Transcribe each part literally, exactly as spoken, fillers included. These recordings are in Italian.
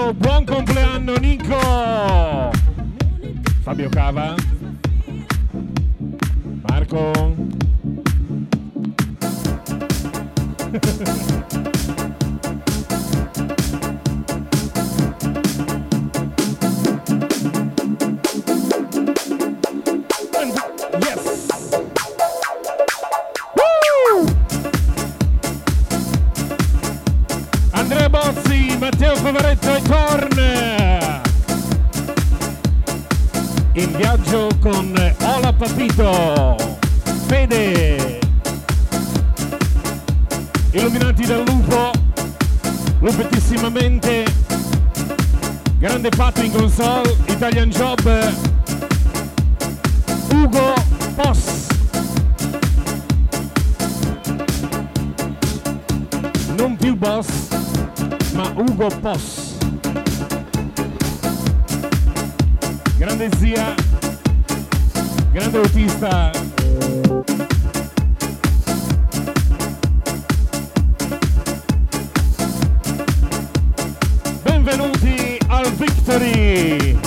Nico, buon compleanno Nico. Fabio Cava, Marco. Andrea Bozzi, Matteo Favaretto e Torn in viaggio con Ola Papito, Fede, illuminati dal lupo, lupettissimamente, grande Pato in console, Italian Job, Ugo Poss, non più boss ma Ugo Poss, grande zia, grande autista, benvenuti al Victory.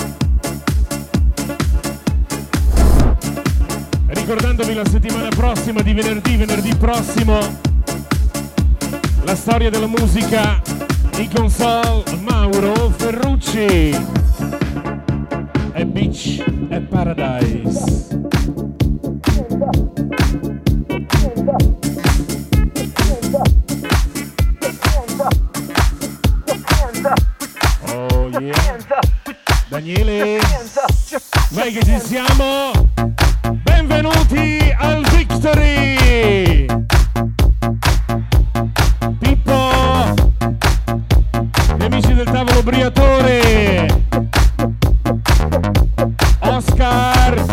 Ricordandovi la settimana prossima di venerdì, venerdì prossimo, la storia della musica in console, Mauro Ferrucci e Beach e Paradise. Oh yeah. Daniele, vai che ci siamo. Benvenuti al Victory. Del tavolo Briatore, Oscar,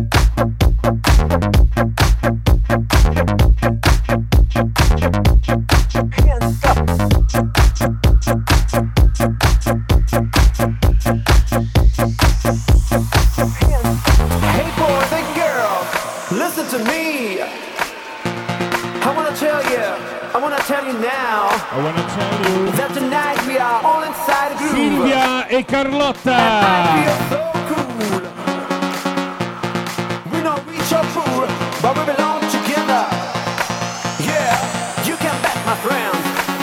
hey boys and girls, listen to me. I wanna tell you, I wanna tell you now. I wanna tell you that tonight we are all inside a groove. Silvia e Carlotta. I feel so cool. We don't reach our pool, but we belong together. Yeah, you can bet, my friends.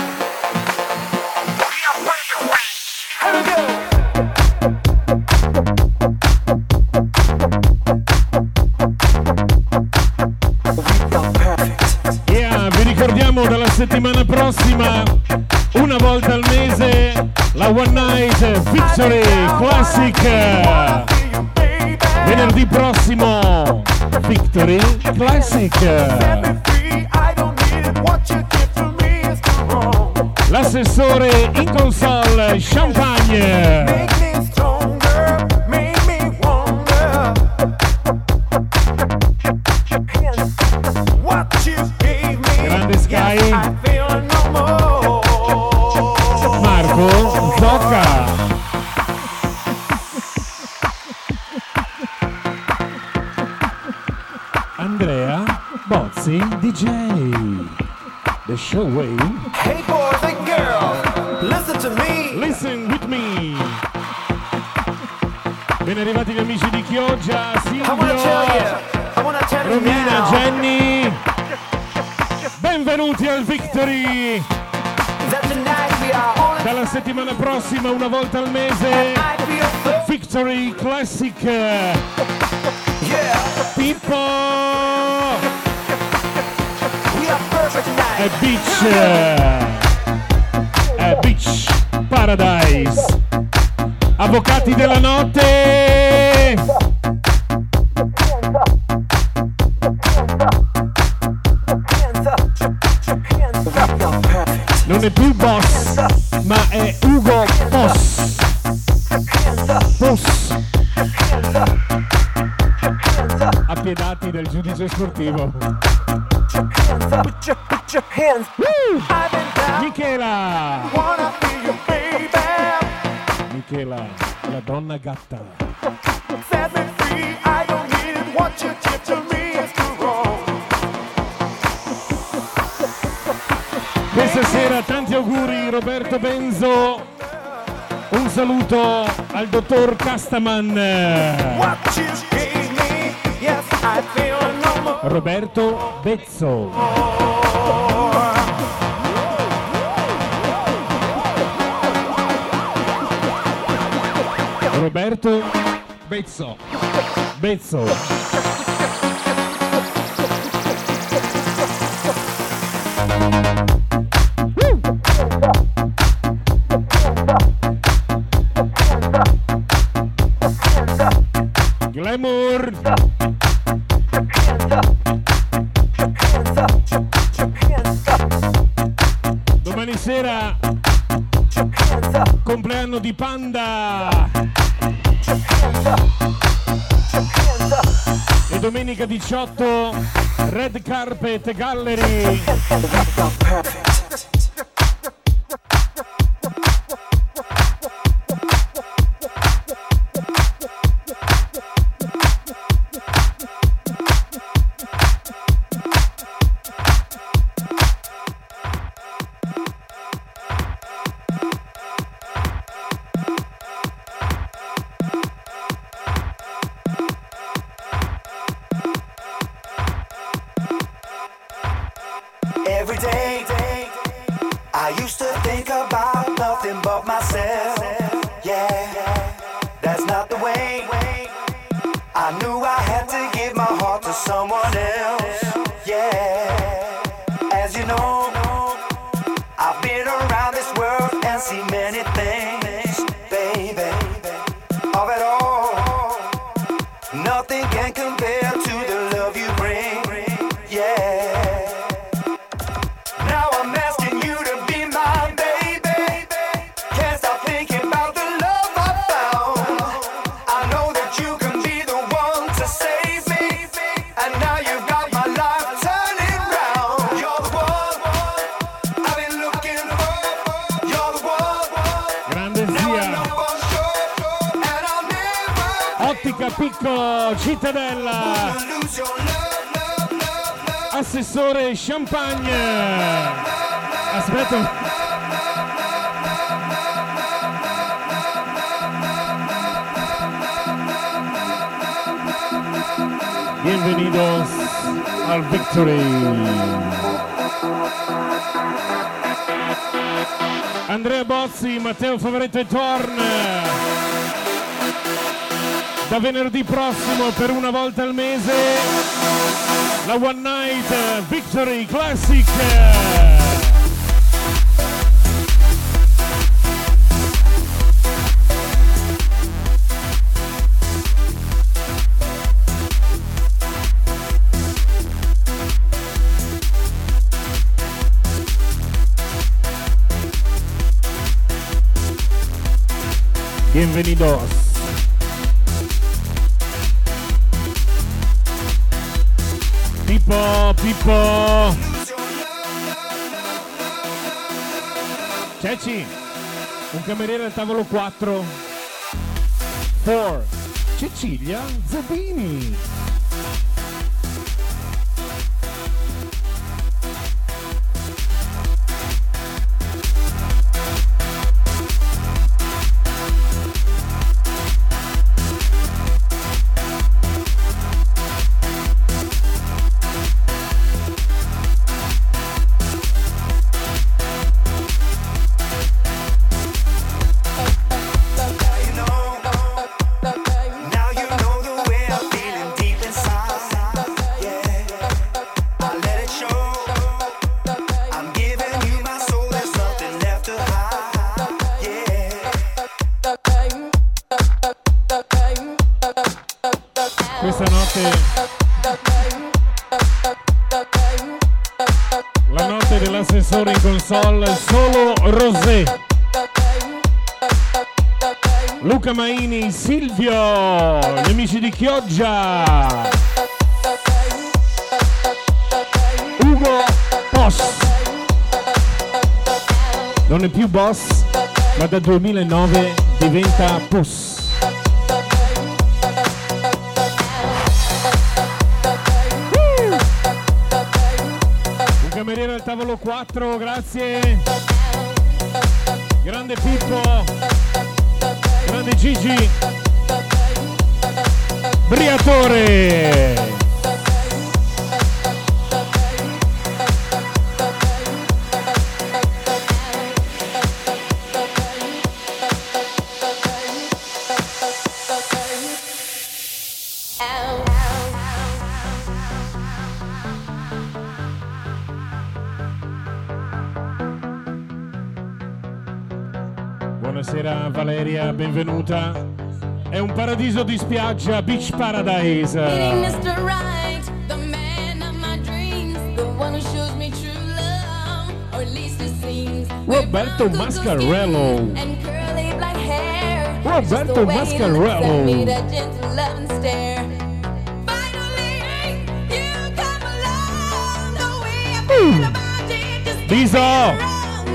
We are perfect. Here we go. Ricordiamo dalla settimana prossima, una volta al mese, la One Night Victory Classic. Venerdì prossimo, Victory Classic. L'assessore in console, Champagne. Grande Sky, Marco Zocca, Andrea Bozzi D J, The Show Way. Hey boys and girls, listen to me. Listen with me. Ben arrivati gli amici di Chioggia, Silvio, Romina, Jenny. Benvenuti al Victory. Dalla settimana prossima, una volta al mese, Victory Classic. Pippo e Beach e Beach Paradise. Avvocati della notte. Non è più boss, ma è Ugo Poss. Poss. Appiedati del giudice sportivo. Uh! Michela. Michela, la donna gatta. Questa sera tanti auguri Roberto Benzo, Un saluto al dottor Castaman. Roberto Bezzo. Roberto Bezzo. Bezzo. Glamour. Domani sera compleanno di Panda e domenica diciotto Red Carpet Gallery. Every day, I used to think about nothing but myself. Yeah, that's not the way. I knew I had to give my heart to someone else. Yeah, as you know, I've been around this world and seen many things, baby. Of it all, nothing can compare to the love you bring. Yeah. Picco Cittadella, assessore Champagne. Aspetta. Bienvenidos al Victory. Andrea Bozzi, Matteo Favoretto e Torn. Da venerdì prossimo, per una volta al mese, la One Night Victory Classic. Bienvenidos. Pippo, Pippo. Ceci, un cameriere al tavolo quattro. quattro. Cecilia Zabini. Questa notte, la notte dell'assessore in console, solo Rosé, Luca Maini, Silvio, gli amici di Chioggia, Ugo Boss, non è più boss, ma dal duemilanove diventa boss. Cameriere al tavolo quattro, grazie. Grande Pippo. Grande Gigi Briatore. Buonasera Valeria, benvenuta. È un paradiso di spiaggia, Beach Paradise. Roberto Mascarello. Roberto Mascarello. Uh. Biso.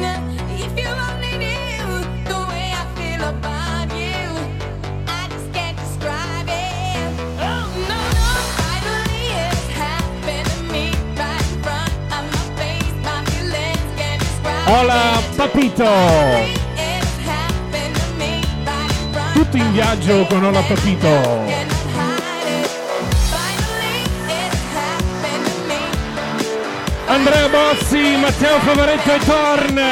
Hola Papito! Tutti in viaggio con Hola Papito! Andrea Bozzi, Matteo Favaretto e Torn!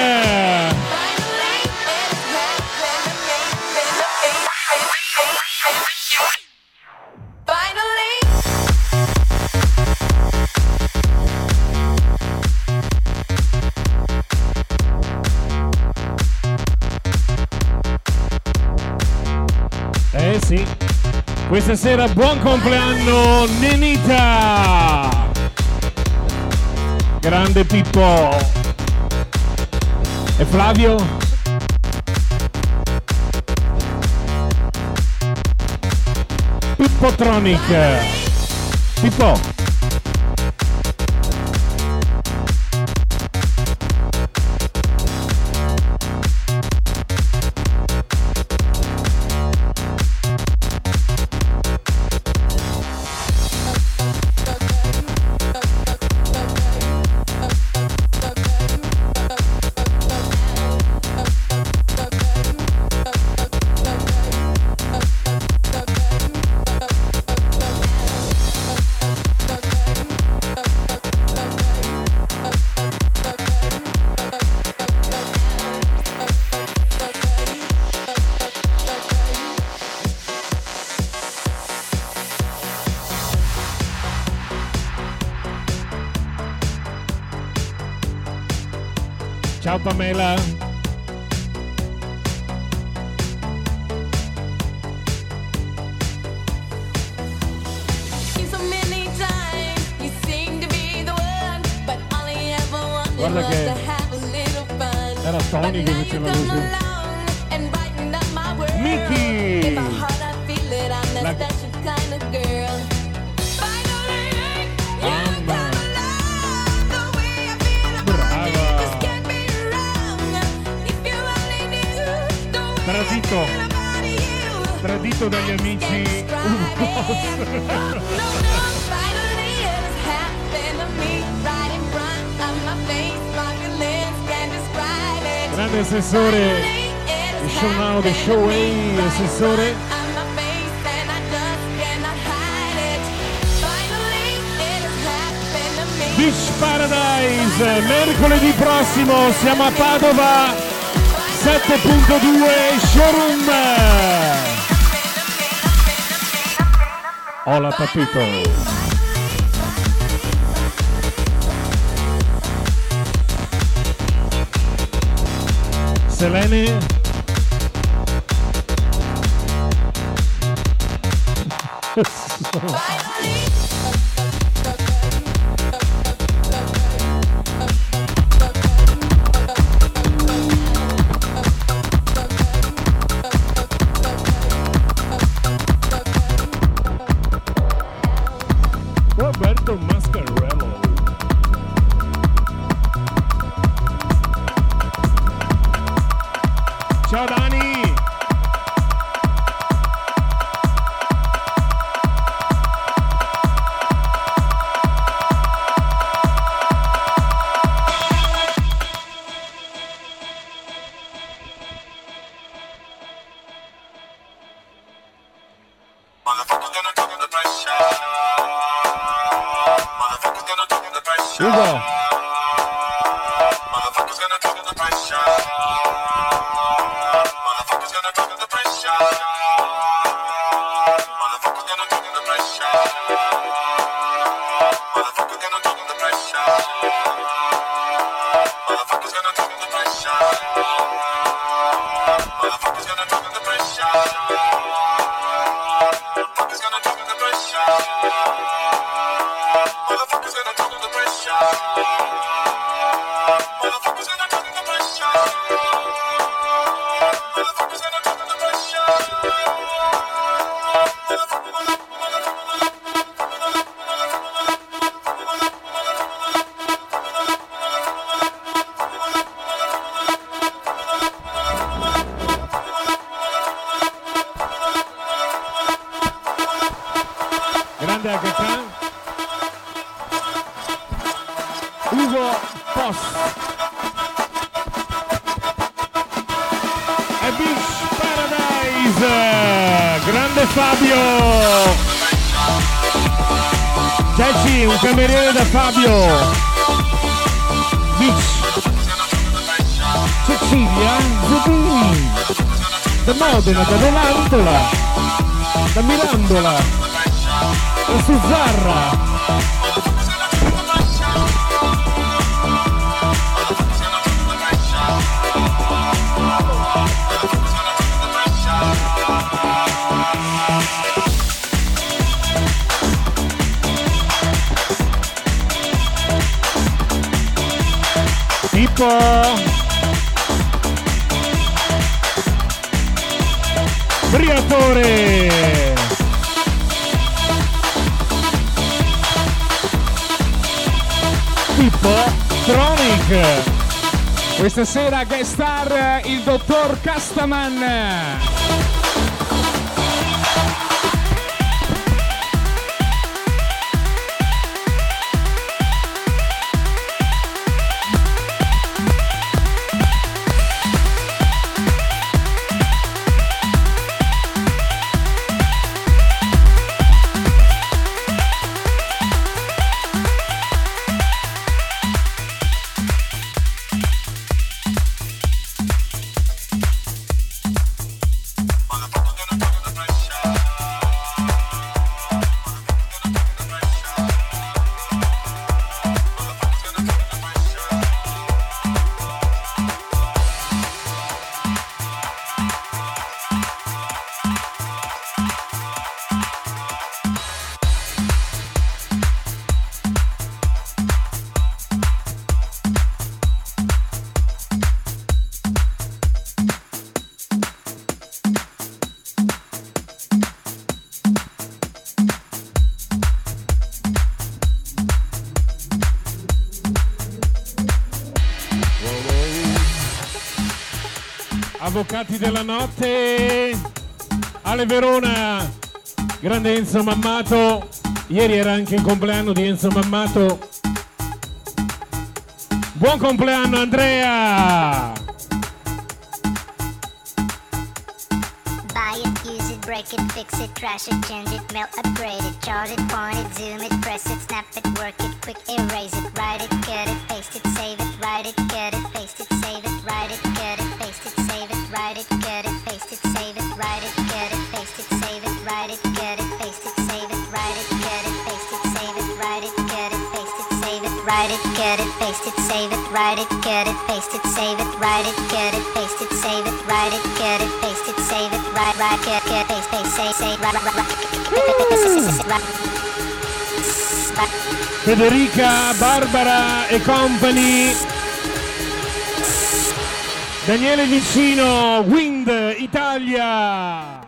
Eh sì, questa sera buon compleanno Nenita! Grande Pippo! E Flavio? Pippotronic! Pippo! Ciao Pamela. Guarda che era Tony che faceva così. Miki! La... Tradito, tradito dagli amici. Grande assessore, il show now, the show way, assessore. Beach Paradise, mercoledì prossimo siamo a Padova. sette punto due showroom. Hola Papito. Selene. Roberto Mascarello. Ciao Dani. Ugo. Grande H K. Ugo Post. E Beach Paradise. Grande Fabio. Ceci, un cameriere da Fabio. Beach. Cecilia Zubini. Da Modena, da Volantola. Da Mirandola. Da Suzzarra. Pippo Briatore. Pippo Tronic. Questa sera guest star il dottor Castaman. Avvocati della notte, Ale Verona, grande Enzo Mammato, ieri era anche il compleanno di Enzo Mammato. Buon compleanno Andrea! Buy it, use it, break it, fix it, trash it, change it, melt, upgrade it, chart it, point it, zoom it, press it, snap it, work it, quick erase it, write it, cut it, paste it, save it, write it, cut it, paste it, save it, write it, cut it, paste it, save it, write it, cut it, paste it, save it, write it, cut it, paste it, save it, write it, cut it, paste it, save it, write it, cut it, paste it, save it, write it, cut it, paste it, save it, write it, cut it, paste it, save it, write it, cut it, paste it, save it, write it, cut it, paste it, save it, write it, cut it, paste it, save it, write, write, cut, cut, paste, paste, save, save, write, write, write. Federica, Barbara e company. Daniele Vicino, Wind Italia.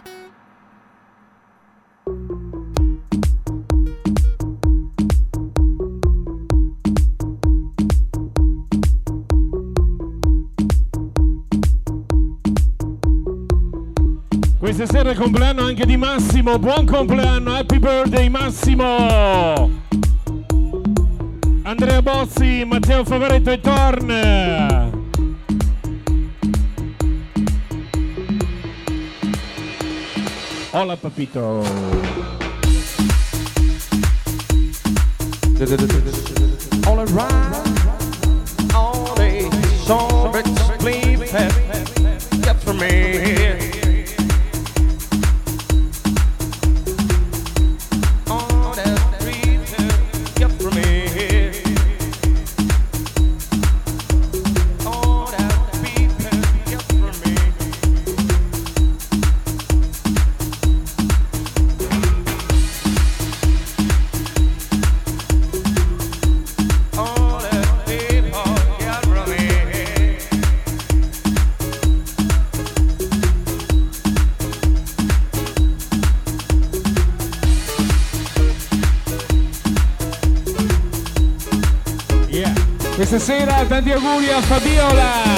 Questa sera è il compleanno anche di Massimo. Buon compleanno, happy birthday Massimo. Andrea Bozzi, Matteo Favaretto e Torn. Hola papito. All around, all day, so rich, please, get for me. All that breeze, get for me. All that beat, get for me. Questa sera tanti auguri a Fabiola.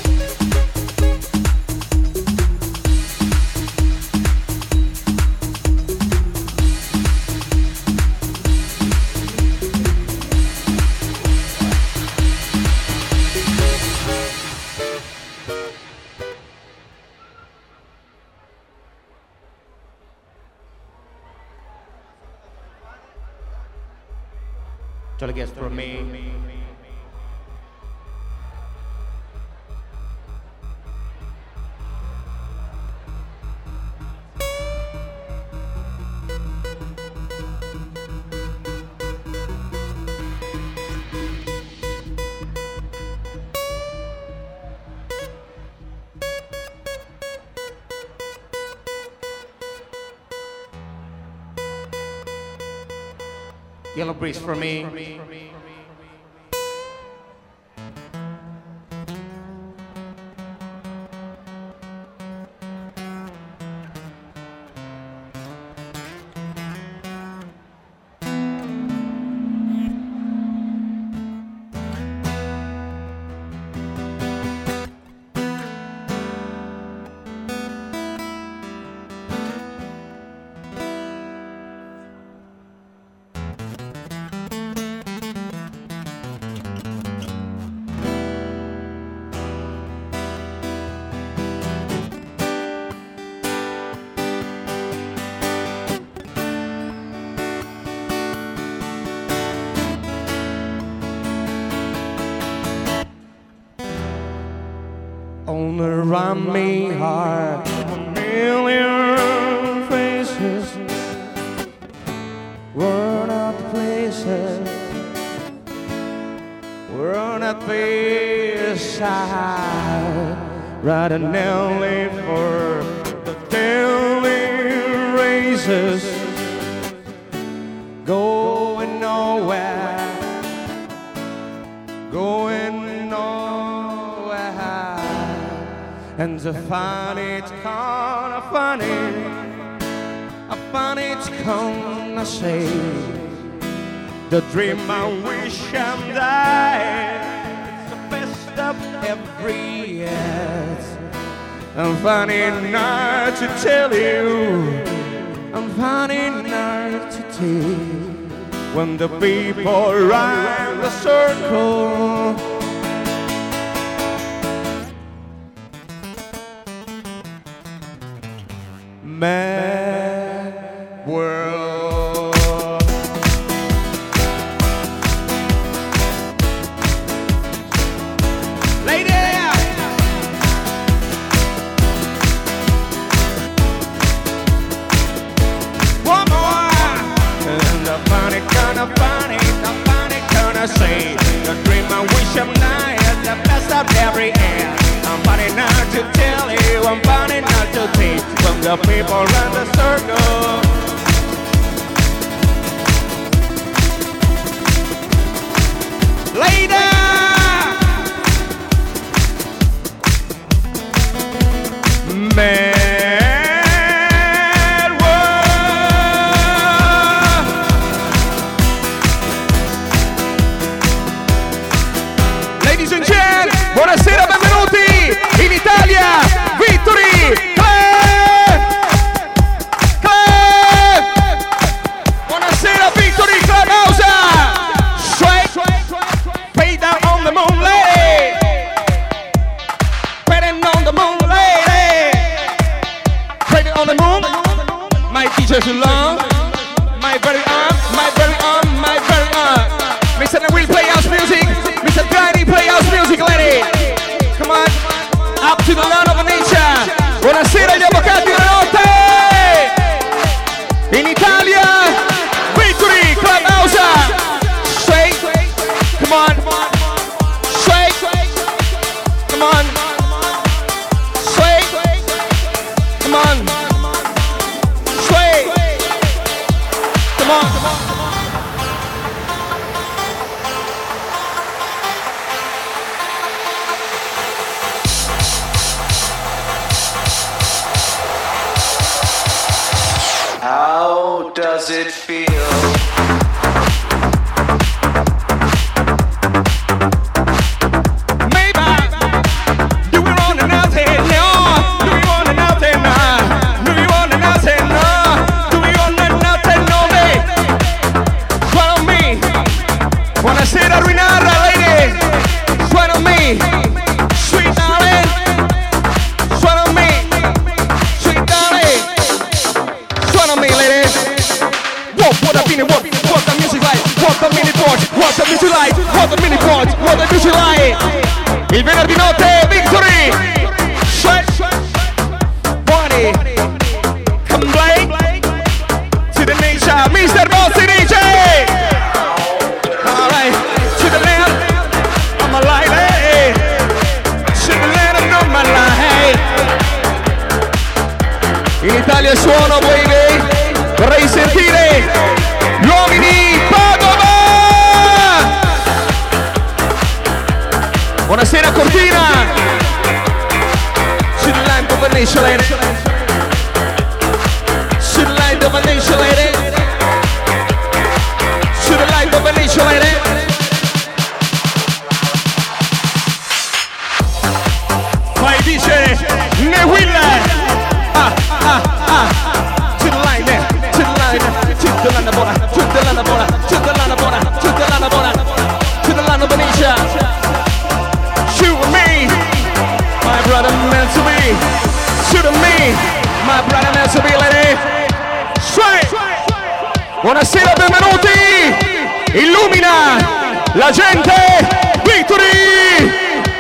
Till it gets from me. Yellow breeze for me. All around me are a million faces, worn out places, worn out places. Right and early for the daily races, going nowhere, going nowhere. And I find it kind of funny, I find it gonna say the dream I wish I'm dying. It's the best of every year. I'm finding hard to tell you, I'm finding hard to tell. When the people round the circle, mad world. Lady, one more. And I find it kinda funny, I find it kinda say the dream I wish I'm not is the best of every year. I'm finding out to tell you, I'm finding out to teach from the people around the circle. Later! Mad world. Ladies and gentlemen, buonasera, benvenuti in Italia, Victory Club! Club! my very own, my very own, my very own. Mister Will play house music, Mister Tiny play house music, lady. Come on, up to the land of nature. Buonasera agli avvocati della notte. In Italia, Victory Clubhouse. Sway, come on, sway, come on, sway, come on, sway, come on. How does it feel? Buonasera Ruinara, lady. Suena me, sweet darling. Suena me, sweet darling. Suena me, lady. What, what a minute, what, what the music like? What the mini port, what the music like? What the mini port, what the music like? Il venerdì notte, Victory. Sweat, Bonnie, come play to the nation, Mister Bossy D J. To the land of my life, hey. To the land of my life. In Italia suono, baby. Vorrei sentire gli uomini Padova. Buonasera Cortina. To the land of a nation, lady. To the land of a nation, lady. To the land of a nation, lady. Vai dice ne will ah ah ah to the line to the line to the line buona to the line buona to the line buona to the line buona to the line Benicia. Shoot me, my brother meant to be. Shoot me, my brother meant to be, lady. Straight. Buonasera, benvenuti. Illumina la gente. Victory.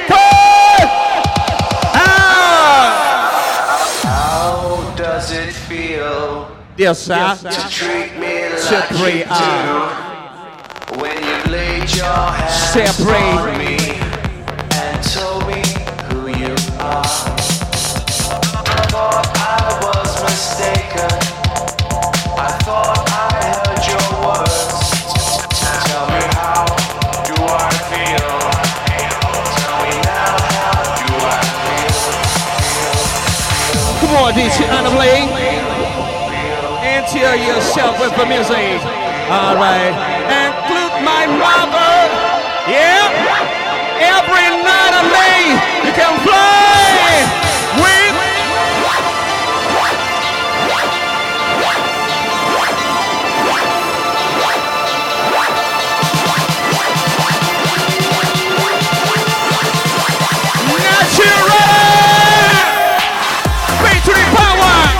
Yes, sir. To treat me like Separate, you do. When you laid your hands Separate. on me and told me who you are. I thought I was mistaken. I thought I heard your words. Tell me how do I feel? Tell me now how do I feel? Come on, D J Anna Blake. Tear yourself with the music. All right. Include my mother. Yeah. Every night and day you can fly with. Natural. Victory power.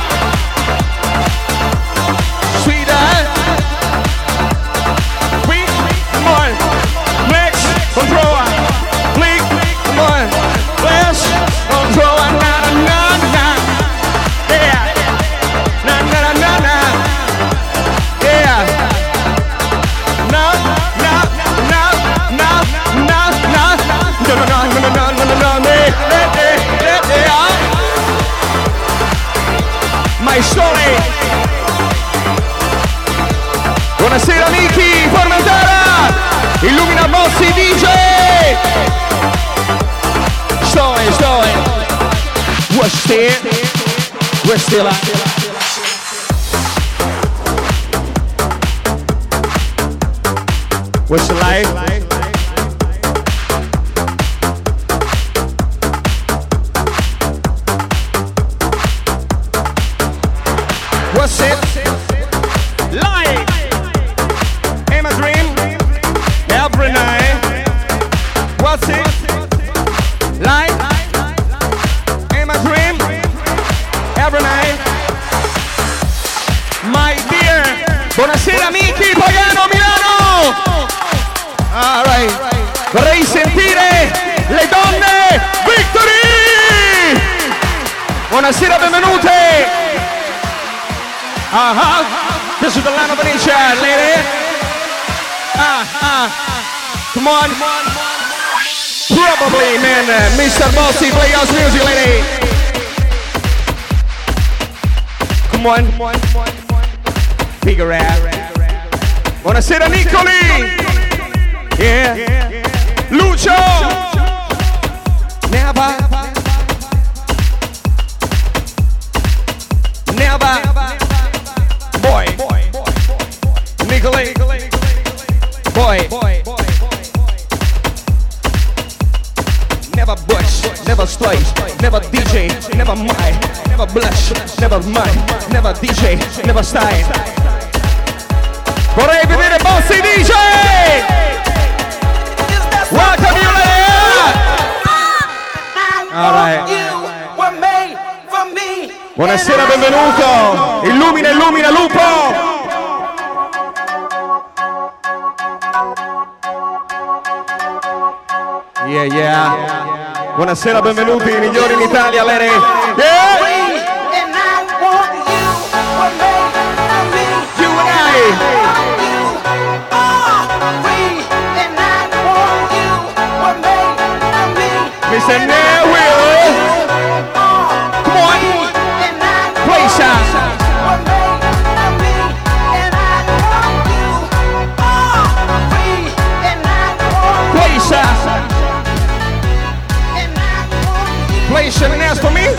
Control, blink, come on, flash, control, na na na, yeah, na na na na, yeah, na na na na na na, no no no no no no no no no, yeah, my story. Buonasera Niki, Formentera. Illumina Bossy D J. Story, story. We're still, we're still at. We're still live. What's it? Live. In my dream. Every night, what's it like? In my dream, every night. My dear Buonasera Miki, Pagano, Milano. All right. Vorrei sentire le donne. Victory. Buonasera, benvenute. Uh-huh. This is the land of Venetia, lady. Ah, ah. Come on. Probably, man. Uh, Mister Bossy, play house music, lady. Come on. Figure out. Buonasera, Nicoli. Yeah. Lucio. Never. Never. Boy. Nicoli. Boy. Never bush, never slice, never D J, never mind, never blush, never mind, never D J, never style. Vorrei vedere Bossy D J! Welcome you there! All right. Buonasera, benvenuto! Illumina, illumina, lupo! Yeah, yeah. Buonasera, benvenuti, migliori in Italia, Lere. Yeah! You and I. Mister Neville. Come on. Play shot. Play shot. Play shot and ask for me.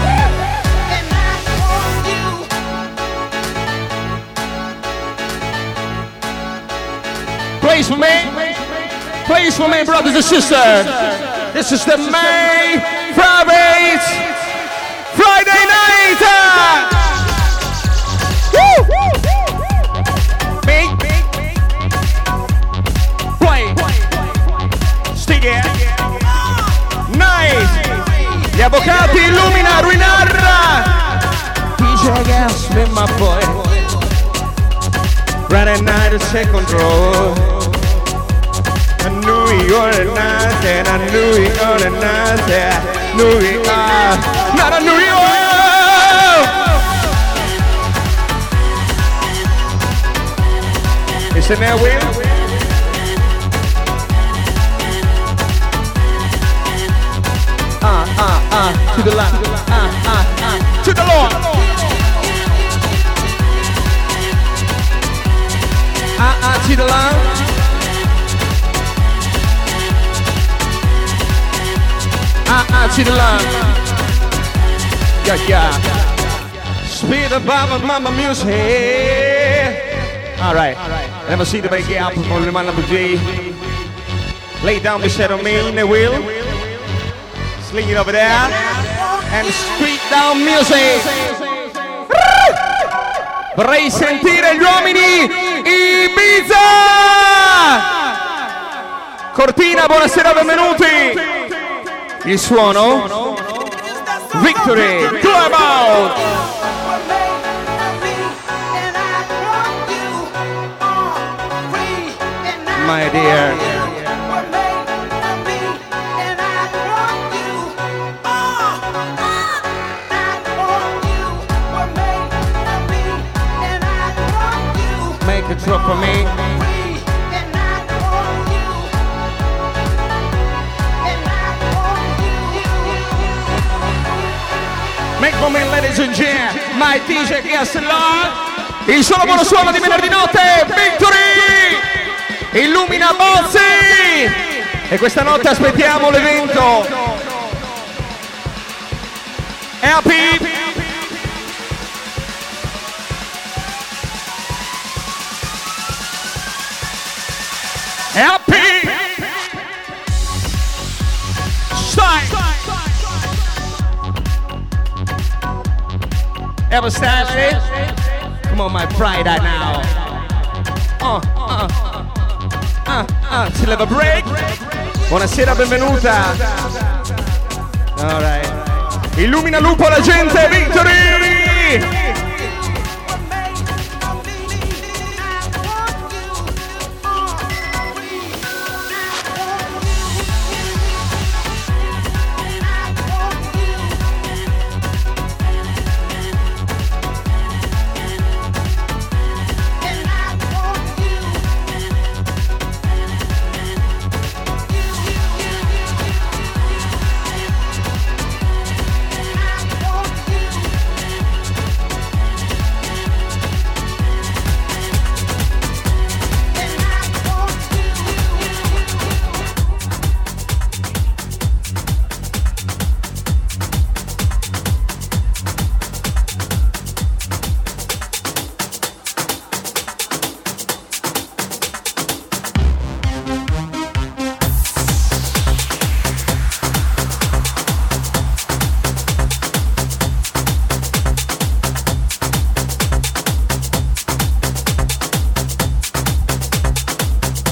Plays for me. Plays for me, brothers and sisters. This is the May Friday Friday night. Woo! Big, play. Stick it. Nice. Gli avvocati illumina Ruinarra. D J Gas with my boy. Friday night is second row. I knew you were a nice and I knew you were a nice and I knew you are not a New York. Is it there, Will? Ah, ah, ah, to the left, ah, ah, ah, to the Lord. Ah, ah, to the left. Ah, ah, to the left. Yeah, yeah. Speed above mama music. All right. Never see the big gap from the man of the G. Lay down beside of me in the wheel. Sling it over there. And street down music. Vorrei sentire gli uomini Ibiza. Cortina, buonasera, benvenuti. Il suono Victory Club Out. My dear. Make a drop for me. Make for me, ladies and gentlemen, my D J guest log. Il solo buono suono di venerdì notte, Victory! Illumina Bossy! E questa notte aspettiamo l'evento. Happy! Happy! Style! Ever started? Come on, my pride right now. Uh, uh, uh, uh, till have a break. Buonasera, benvenuta. All right. Illumina lupo la gente, Victory!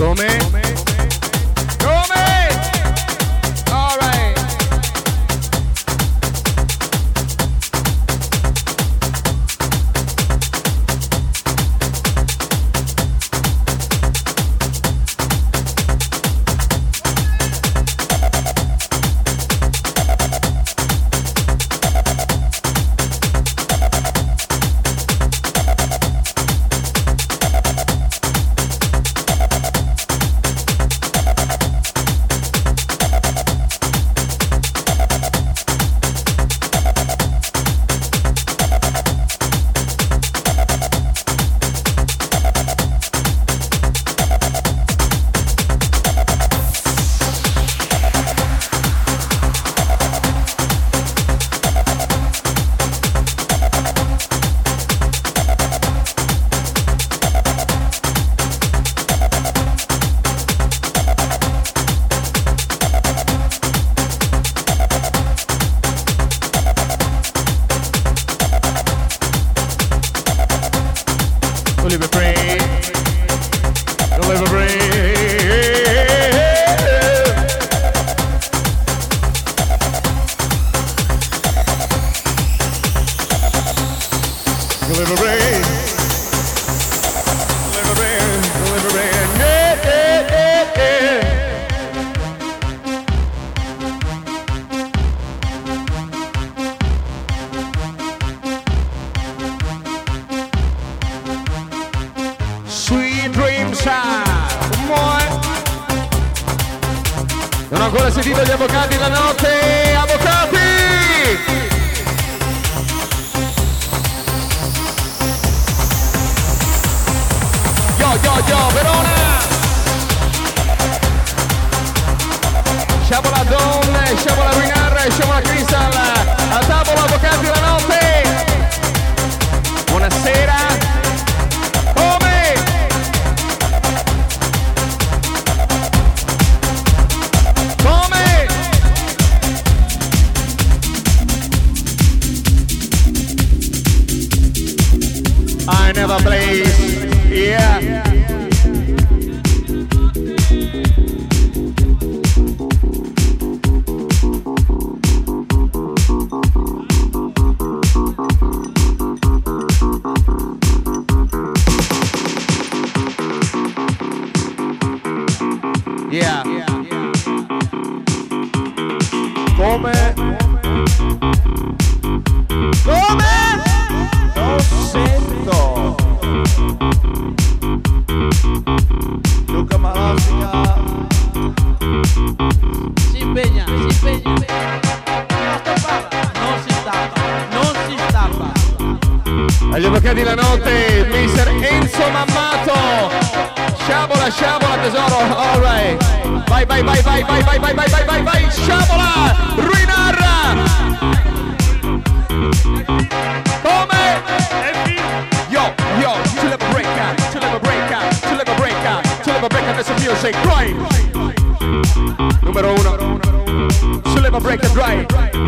Come? Come? All right. Non ho ancora sentito gli avvocati la notte, avvocati! Yo, yo, yo, Verona! Sciabola Don, sciabola Ruinar, sciabola Crystal, a tavola avvocati la notte! Buonasera! I never plays, yeah. Yeah. Come? Come? Non sento. Luca Malastica. Si impegna, si impegna. Non si stappa, non si stappa. Agli avvocati la notte, mister Enzo Mammato. Sciabola, sciabola tesoro, alright. Vai, vai, vai, vai, vai, vai, vai, vai, vai, vai, vai, sciabola, Ruinarra. Come? Yo, yo, to let me break out, to let me break out, to let me break out, to let me break out, that's the music, right? Numero uno, to let me break it right.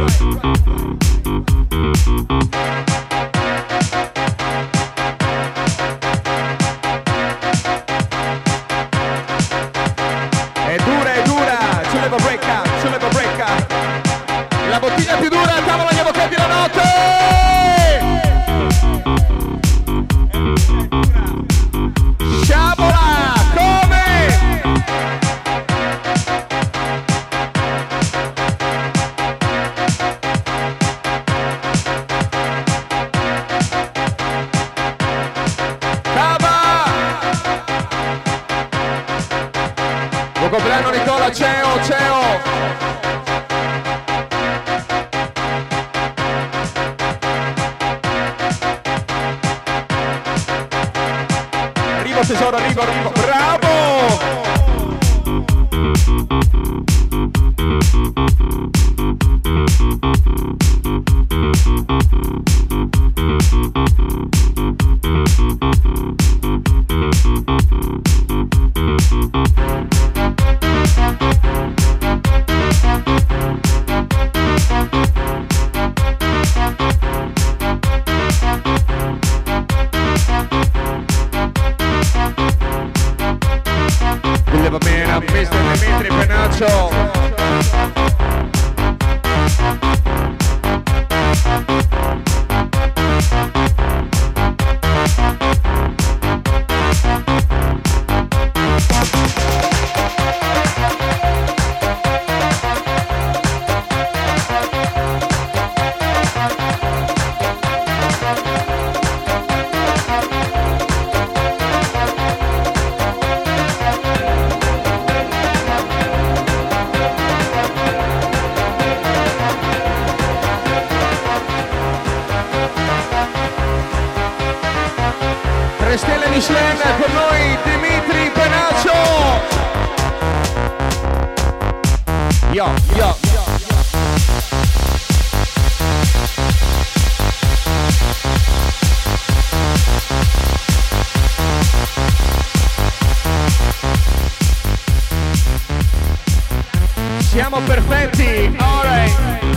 La bottiglia più dura, tavola agli avvocati la notte! Sciabola, come? Cava! Buon compleanno Nicola, ciao, ciao! Tesoro, arrivo, arrivo, bravo! up mister Dimitri Penaccio. Stelle Michelin con noi Dimitri Penaccio. Yo, yo. Siamo perfetti, alright.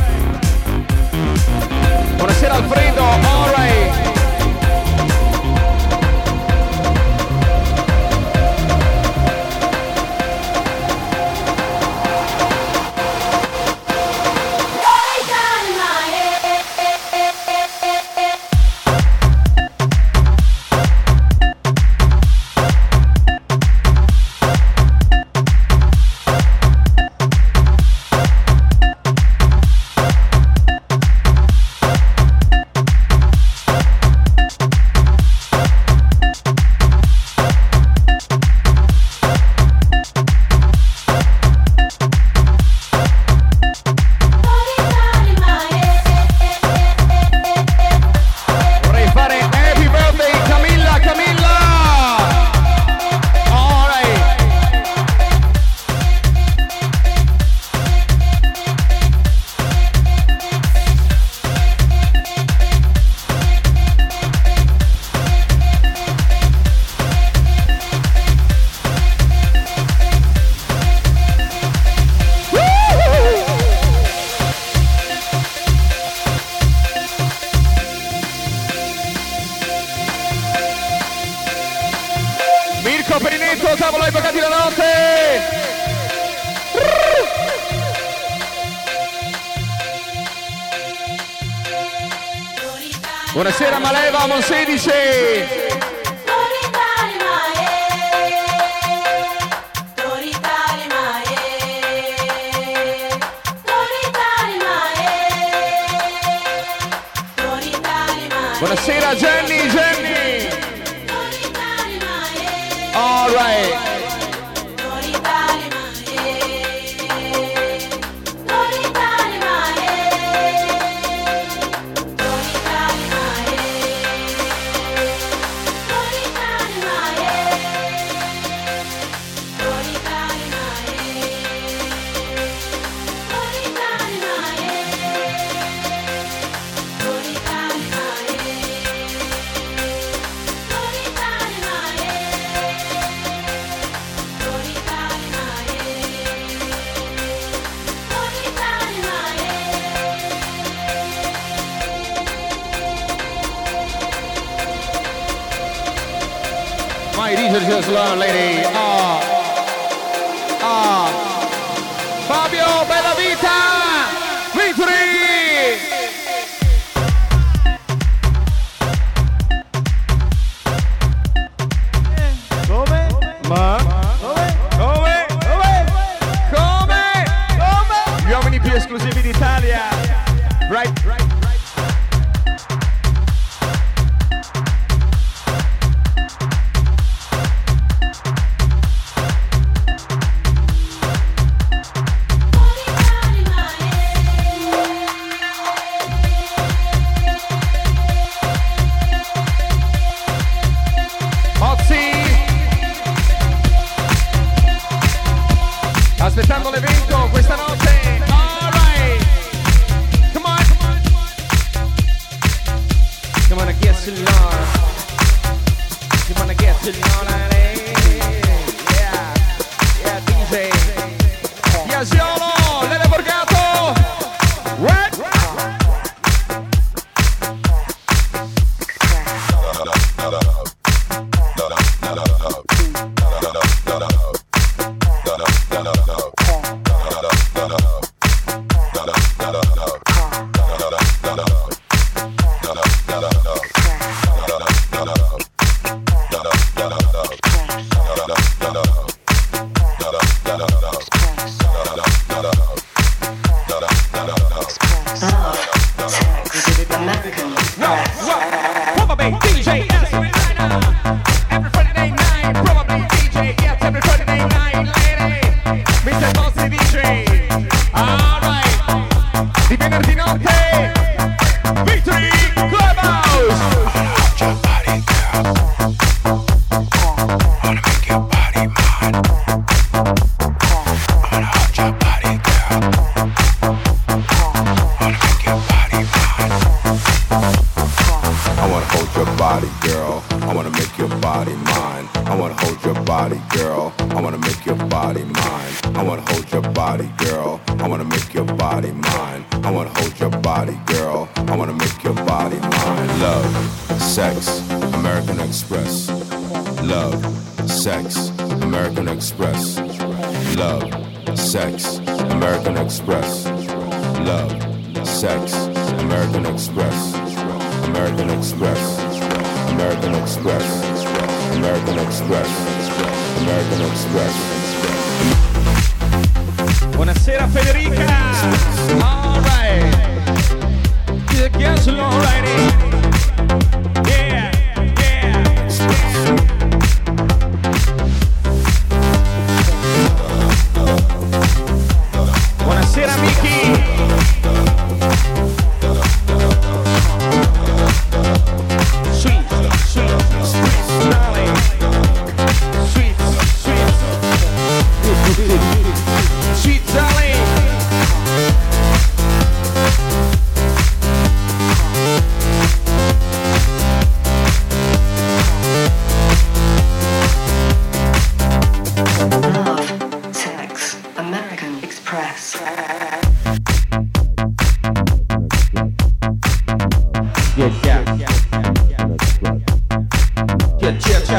Buonasera Alfredo, alright. Buonasera Maleva, Mon sedici. Buonasera Jenny, Jenny. All right. My D J just learned, lady. Ah, ah. Fabio, bella vita, Vitri. Come? Ma? Come? Come? Come? Come? Come? Gli uomini più esclusivi d'Italia. Right, right. Aspettando l'evento questa notte. All right. Come on, come on, come on. Come on, get to know. Come on, get to know. Yeah, yeah, D J. Yasiolo, Lele Borgato. What? I wanna hold your body, girl. I wanna make your body mine. I wanna hold your body, girl. I wanna make your body mine. I wanna hold your body, girl. I wanna make your body mine. Love, sex, American Express. Love, sex, American Express. Love, sex, American Express. Love, sex, American Express. American Express. American Express. American Express. American Express. Buonasera Federica. All right. Get along, righty. Yeah, yeah. Buonasera Miki. Sweet, sweet, sweet, darling. Sweet, sweet, sweet, darling. Love, sex, American Express. Yeah, yeah, yeah, yeah, yeah, yeah,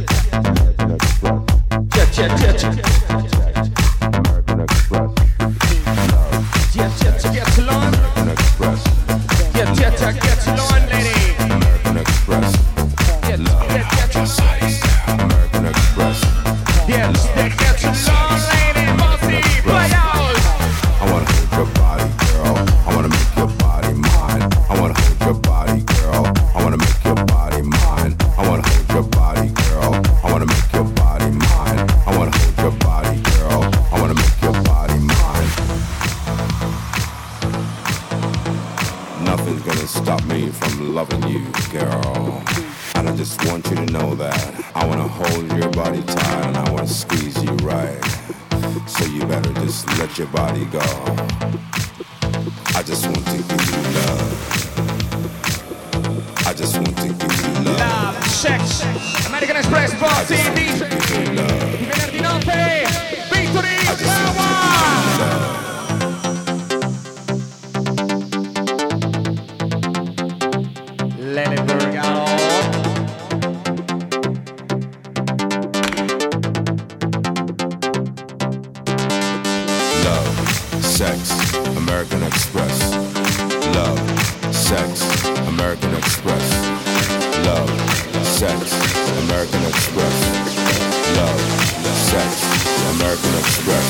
yeah, yeah, yeah. American Express. Yeah, yeah, get along. Yeah, yeah, yeah, get along, lady. American Express. Yeah, yeah, yeah, American Express. yeah, yeah, get along, lady. Bossy, play out. I wanna hold your body, girl. I wanna make your body mine. I wanna hold your body, girl. I wanna make your body mine. I wanna hold your body, girl. I wanna make your body mine. I wanna hold your body, girl. I wanna make your body mine. Nothing's gonna stop me from loving you, girl. And I just want you to know that I wanna hold your body tight and I wanna squeeze you right. So you better just let your body go. I just want to give you love. I just want to give you love. Love, sex, American Express, Bossy, I D just J. want to give you love. Di venerdì notte, Victory, I just want to Power. give you love. Lele Vergano. Love, sex, American Express. Love, sex, American Express. Love, sex, American Express. Love, sex, American Express.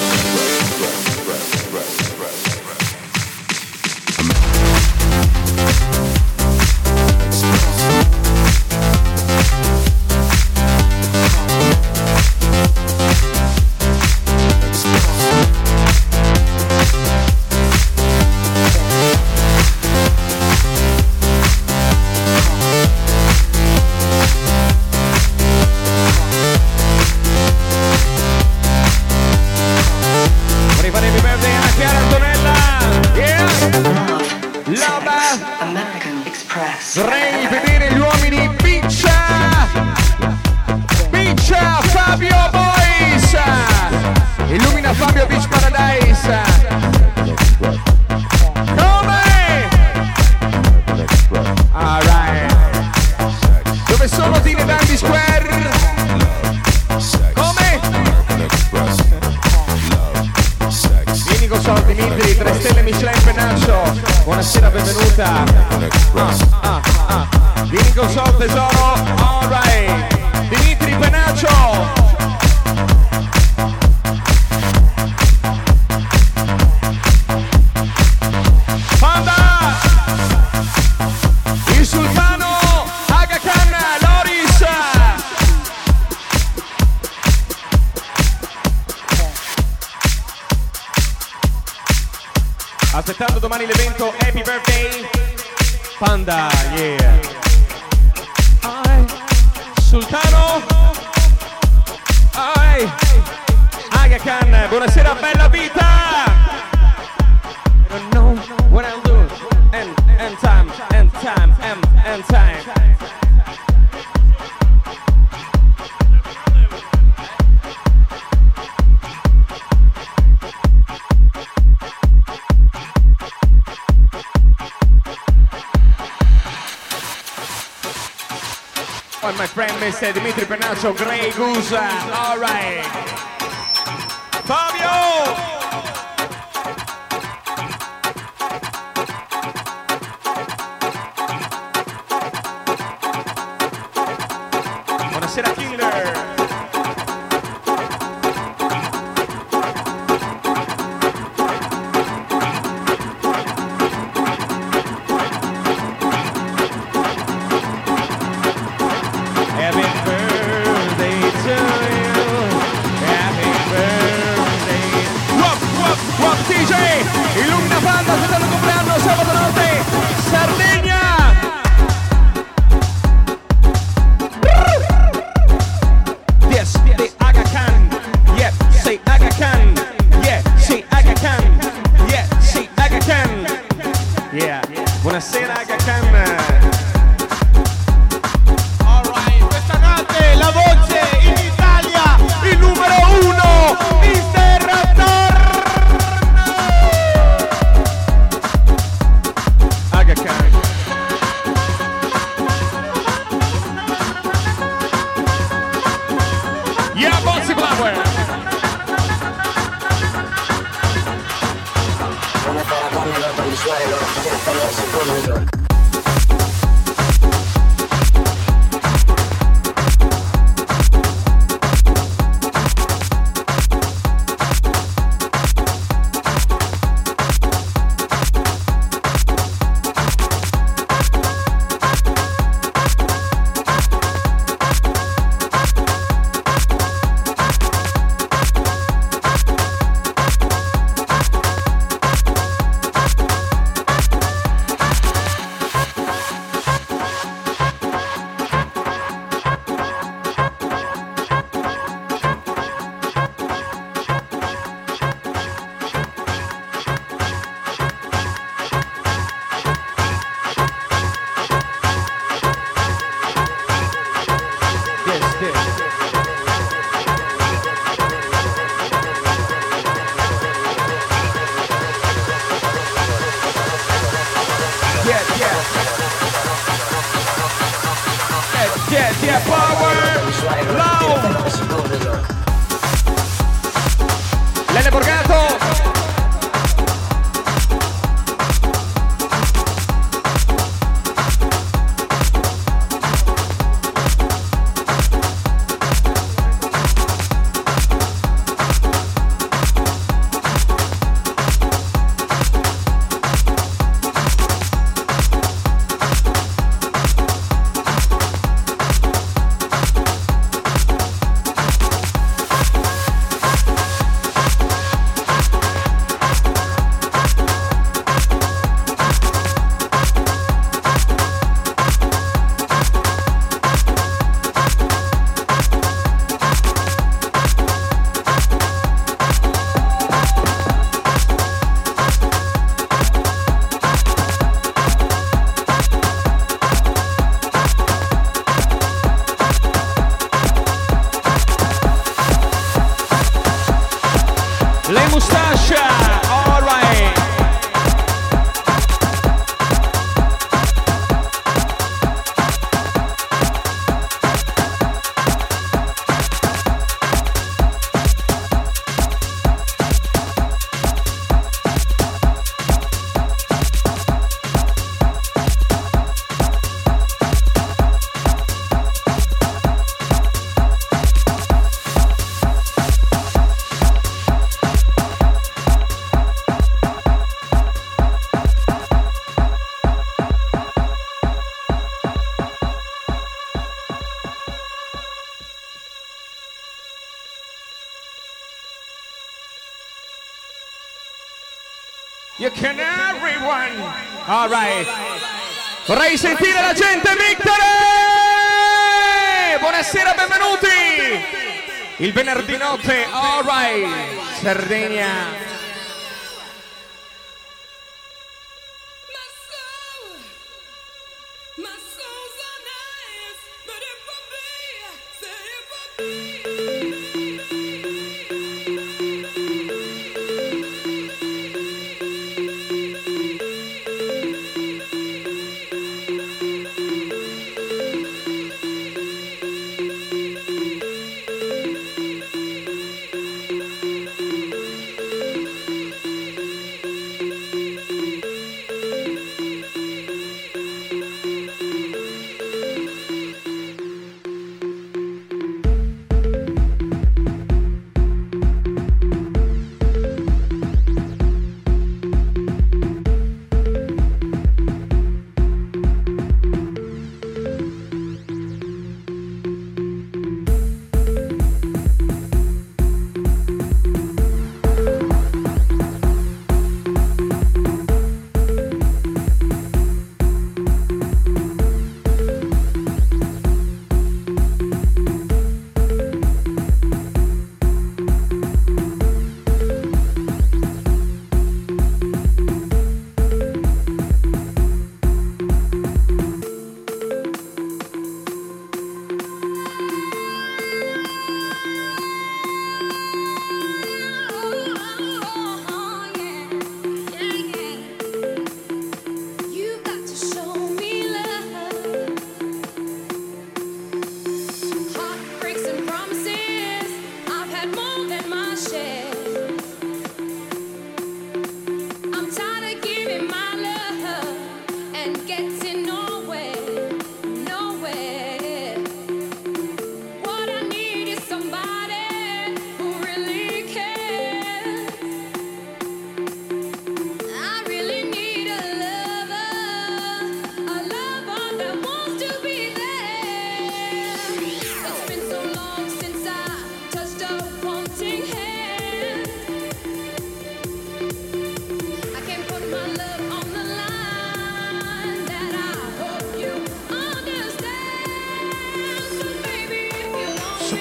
Vorrei fare happy birthday a Chiara Antonella. Yeah. Love, Love. sex, American Express. Vorrei vedere gli uomini Piccia. Piccia Fabio Boys. Illumina Fabio Beach Paradise. Come? Alright. Dove sono Tine Dandy Square? Come? Vieni con soldi Dimitri, tre stelle Michelin Penaccio. Buonasera, benvenuta. Ah, ah, ah. Vieni con soldi tesoro. Alright. Dimitri Penaccio. Panda. Il sultano Aga Khan Loris. Aspettando domani l'evento Happy Birthday Panda, yeah. Ai, Sultano. Ai, Aga Khan, buonasera bella vita. I don't know what I'll do. And, and time, and time, and, and time. grazie Dimitri Pennaccio, Grey Goose, alright. Fabio! Buonasera Killer! Illumina Panda, settanta compleanno, sabato notte, Sardegna! Yes, the Aga Khan, yeah, say Aga Khan, yeah, say Aga Khan, yeah, say Aga Khan, yeah, buonasera Aga Khan. Alright, questa notte la voce in Italia, il numero uno, mister Raptor! Aga Khan. Yeah, Bossy Flower. Buonasera, come lo puoi suonare loro, senza loro si può New York. Lele Borgato. Le Mustascia, all right. You can everyone. All right. Vorrei sentire la gente, Victory! Buonasera, benvenuti! Il venerdì notte, all right. Sardegna.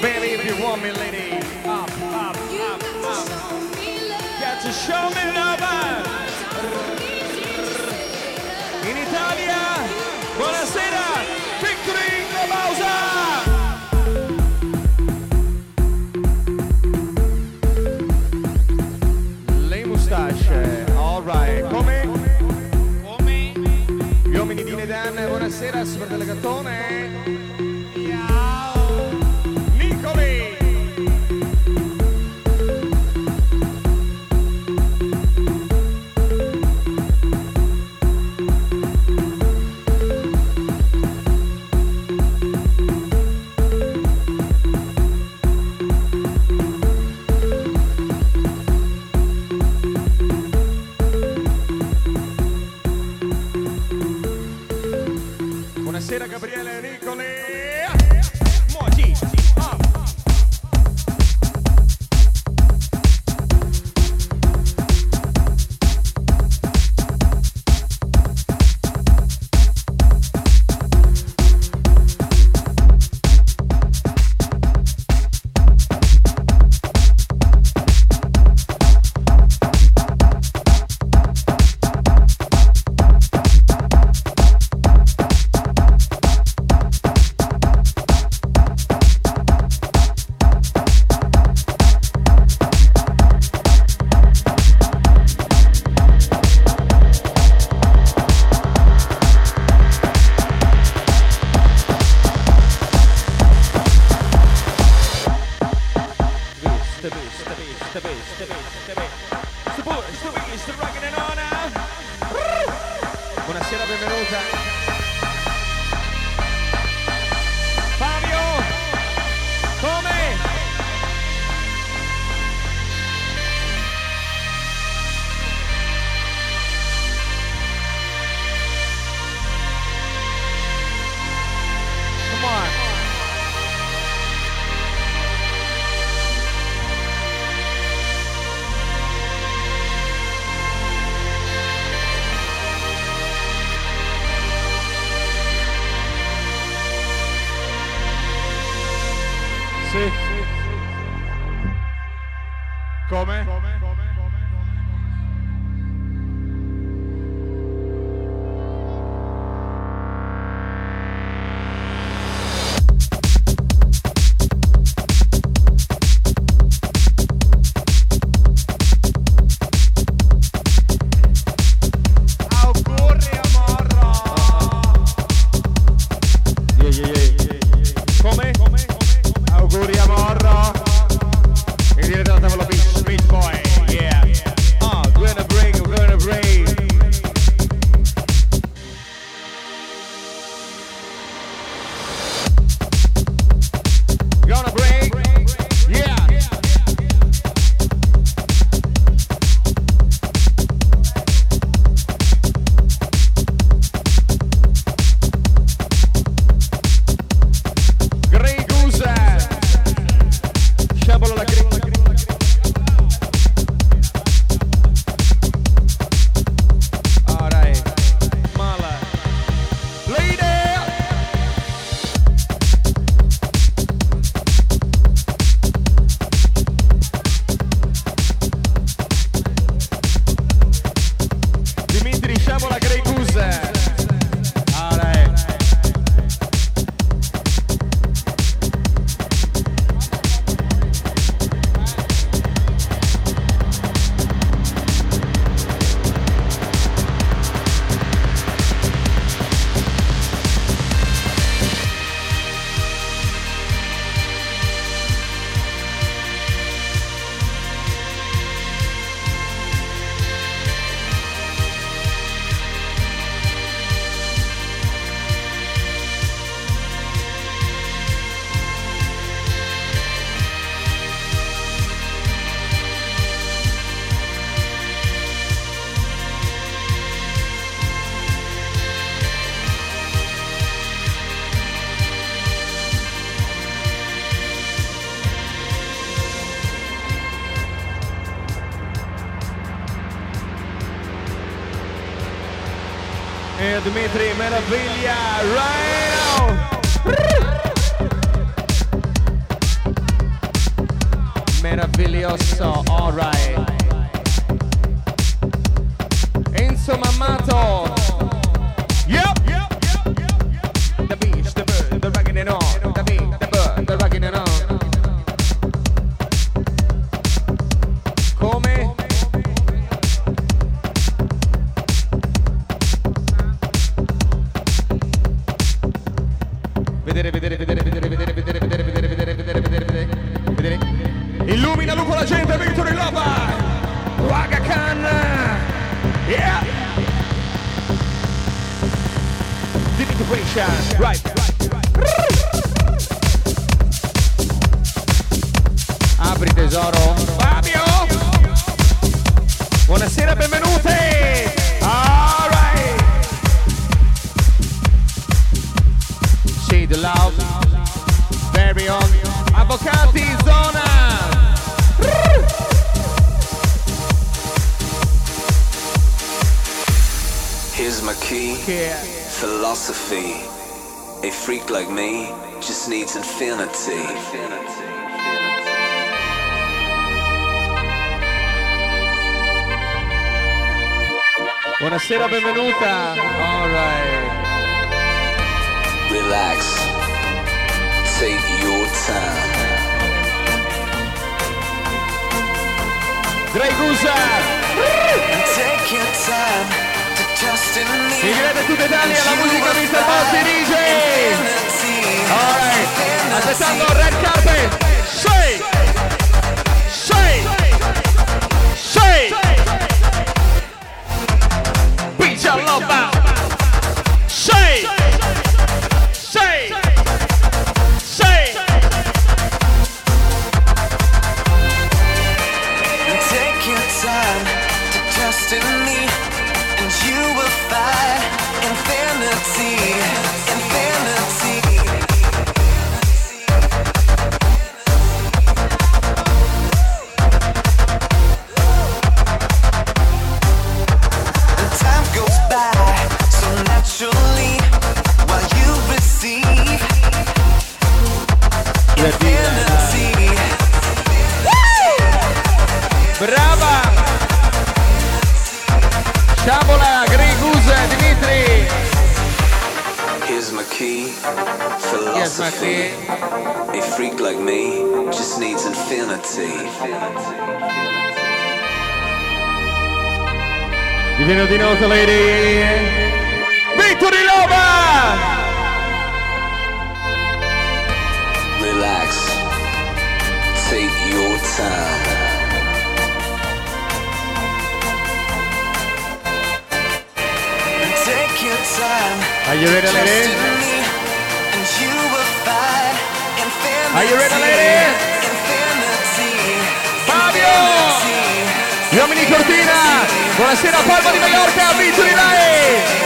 baby, if you want me, lady. Up, up, up, up. Got to show me love. In Italia, buonasera, Victory Globausa. Le mustache, alright, come? Come? Gli uomini di Nedan, buonasera, super delegatone. Ciao. Nicoli. Buonasera Gabriele Nicoli. Moji. Ah. Buonasera, benvenuta. Fabio, come? Come on. Sì. Come? Auguri amorro. Yeah, yeah, yeah. Come? Auguri amorro. E direi dalla tavola Beach, Beach Boy, yeah. Ah, oh, gonna break, gonna break. Gonna break, yeah. Grey Goose. Sciabolo la gringa. Alright. Mala. Lady. Dimitri Sciabola Grey Goose. Alright. E Dmitri Meraviglia, right now. Meraviglioso, alright. Enzo Mammato. Yep. The beach, the bird, the ragging and on. The beat, the bird, the ragging and on. Come? Vedere, vedere, vedere, vedere, vedere, vedere, vedere, vedere, vedere, vedere, vedere, vedere, vedere. Illumina lupo la gente, Victory Lover. Raga Khan. Yeah. Disintegration. Right. Apri tesoro. Fabio. Buonasera, benvenuti. All right. See the love. Very on. Avvocati zona. Here's my key. Yeah. Philosophy. A freak like me just needs infinity. Buonasera, benvenuta. All right. Relax. Take your time. Grey Gusa. Take your time to trust in me. Si crede tutta Italia, la musica mister Bossi D J. Alright, aspettando red carpet. Say, say, say. Beach your love out. Say, say, say. Take your time to trust in me, and you will find infinity, infinity. And time goes by so naturally while you receive infinity. Brava! Sciabola, Grey Goose, Dimitri! Here's my key. Yes, my Philosophy. key. A freak like me just needs infinity. Divino di notte, lady! Victory Lover! Relax. Take your time. Take your time. Are you ready, Trust lady? in me, and you will find infinity. Are you ready, lady? Infinity. Fabio! Gli uomini di Cortina! Buonasera, Palma di Mallorca, Victory Lane!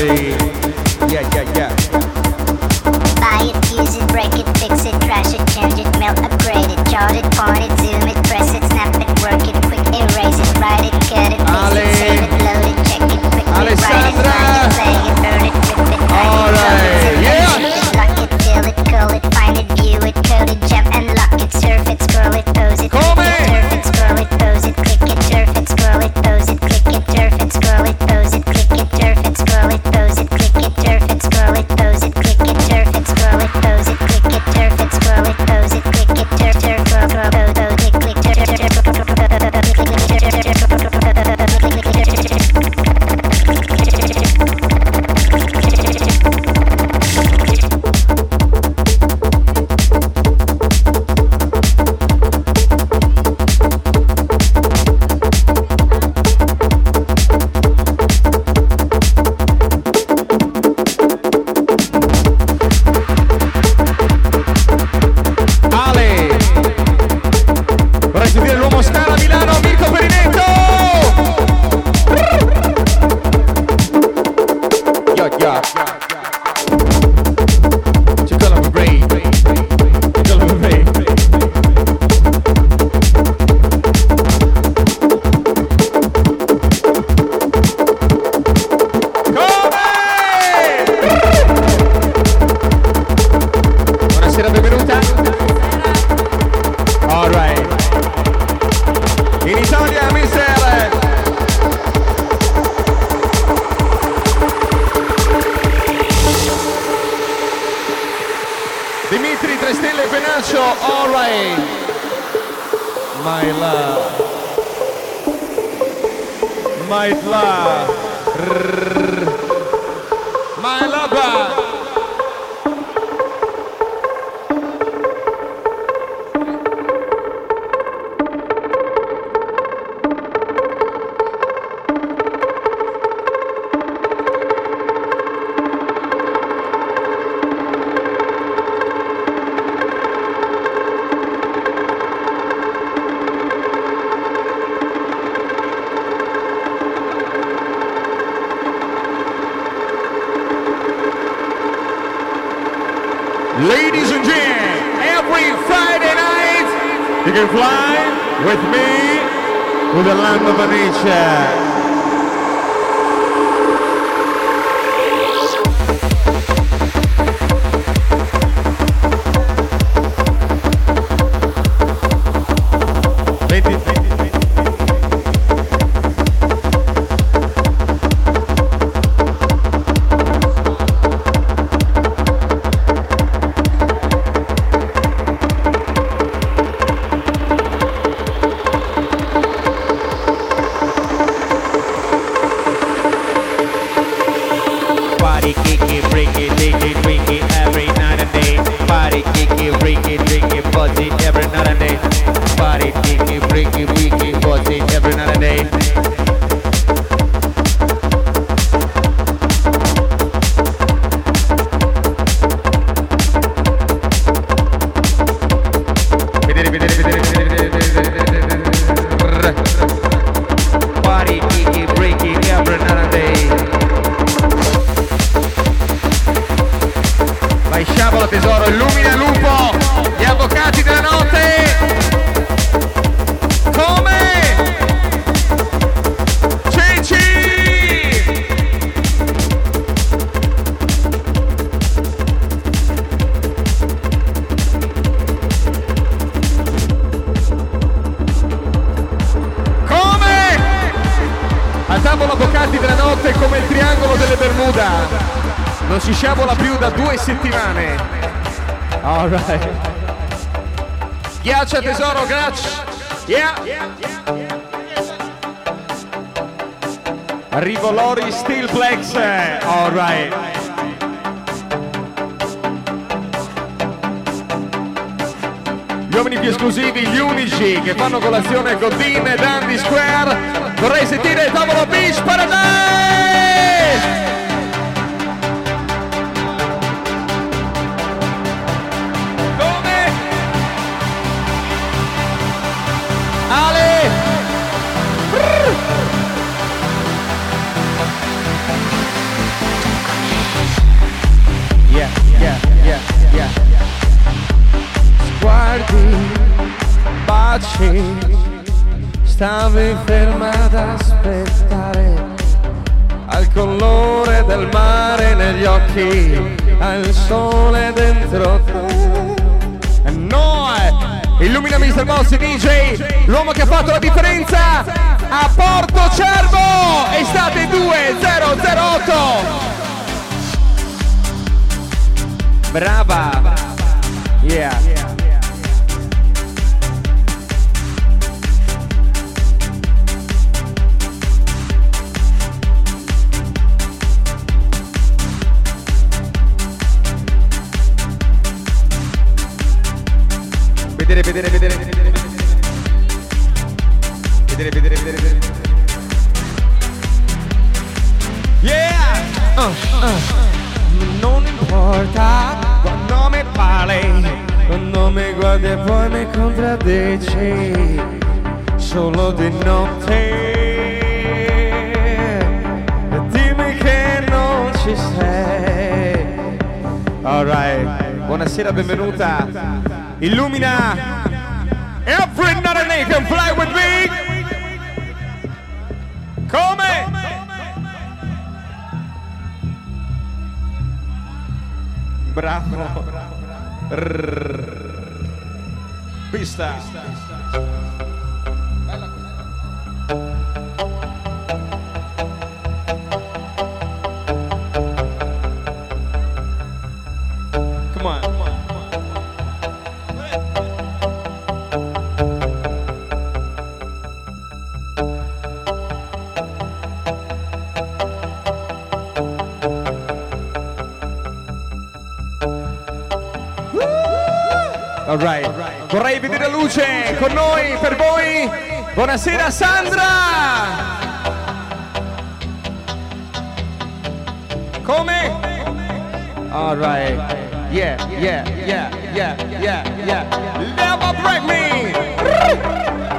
day. Yeah, yeah, yeah. Buy it, use it, break it, fix it, trash it, change it, melt, upgrade it, chart it, point it, zoom it, press it, snap it, work it, quick erase it, write it, cut it, paste it, save it, load it, check it, quickly write it, find it, play it, burn it, rip it, write it, yeah. lock it, fill it, call it, find it, view it, code it, jump and lock it, surf it, scroll it, pose it, click it, turf it, scroll it, pose it, click it, turf it, scroll it, pose it, click it, turf it, scroll it, pose it, click it, turf it, scroll it, pose it, click it, turf it, scroll it, pose it, click it, turf it, scroll it, pose it, click it, turf it, scroll it, pose it, click it, turf turf scroll scroll pose pose click click turf turf turf Ladies and gentlemen, every Friday night you can fly with me to the land of Venetia. Settimane. All right. Ghiaccia tesoro, grazie. Yeah. Arrivo Lori Steelplex. All right. Gli uomini più esclusivi, gli unici che fanno colazione con Dean e Dandy Square. Vorrei sentire Tavolo Beach Paradise. yeah, yeah, yeah. Sguardi, baci, stavi ferma ad aspettare, al colore del mare negli occhi, al sole dentro te. E noi, illumina mister Bossi D J, l'uomo che ha fatto la differenza a Porto Cervo, estate due zero zero otto. Brava, yeah. Vedere, vedere, vedere, vedere, vedere, vedere, vedere, vedere, vedere. Yeah! Uh, uh. Non importa quando mi parli, quando mi guardi e poi mi contraddici, solo di notte. Dimmi che non ci sei. Alright, buonasera, benvenuta. Illumina. Every night and they can fly with me. Come? Bravo. Pista. Bella questa. Come on. Alright, vorrei vedere luce con noi, per voi. Buonasera Sandra. Come? Alright, yeah, yeah, yeah, yeah, yeah, yeah. Never break me.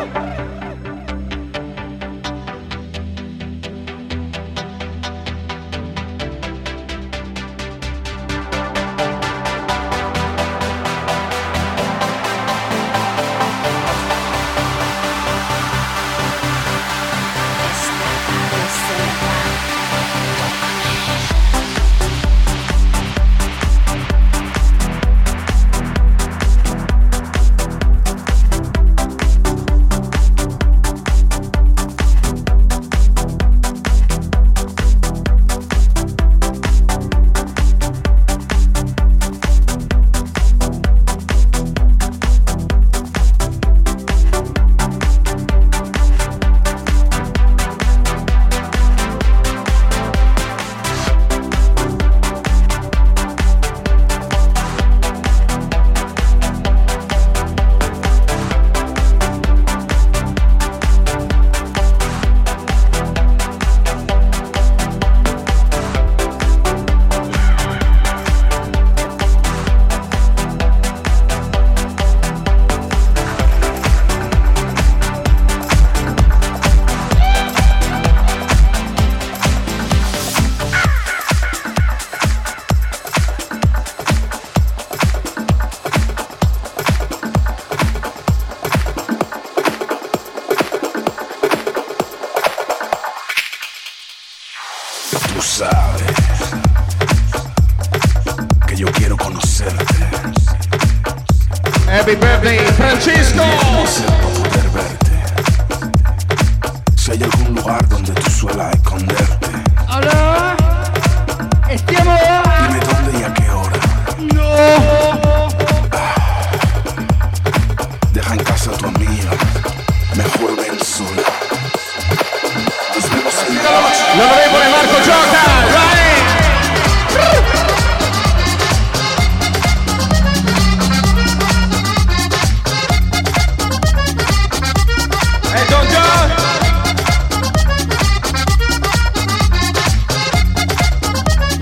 Happy birthday, Francisco. Poder verte. Si hay algún lugar donde tú suelas esconderte. Hola. Stiamo. Dime dónde y a qué hora. No. Ah. Deja en casa a tu amiga. Mejor ven sola. Nos vemos en la noche. L'onorevole Marco Gioca.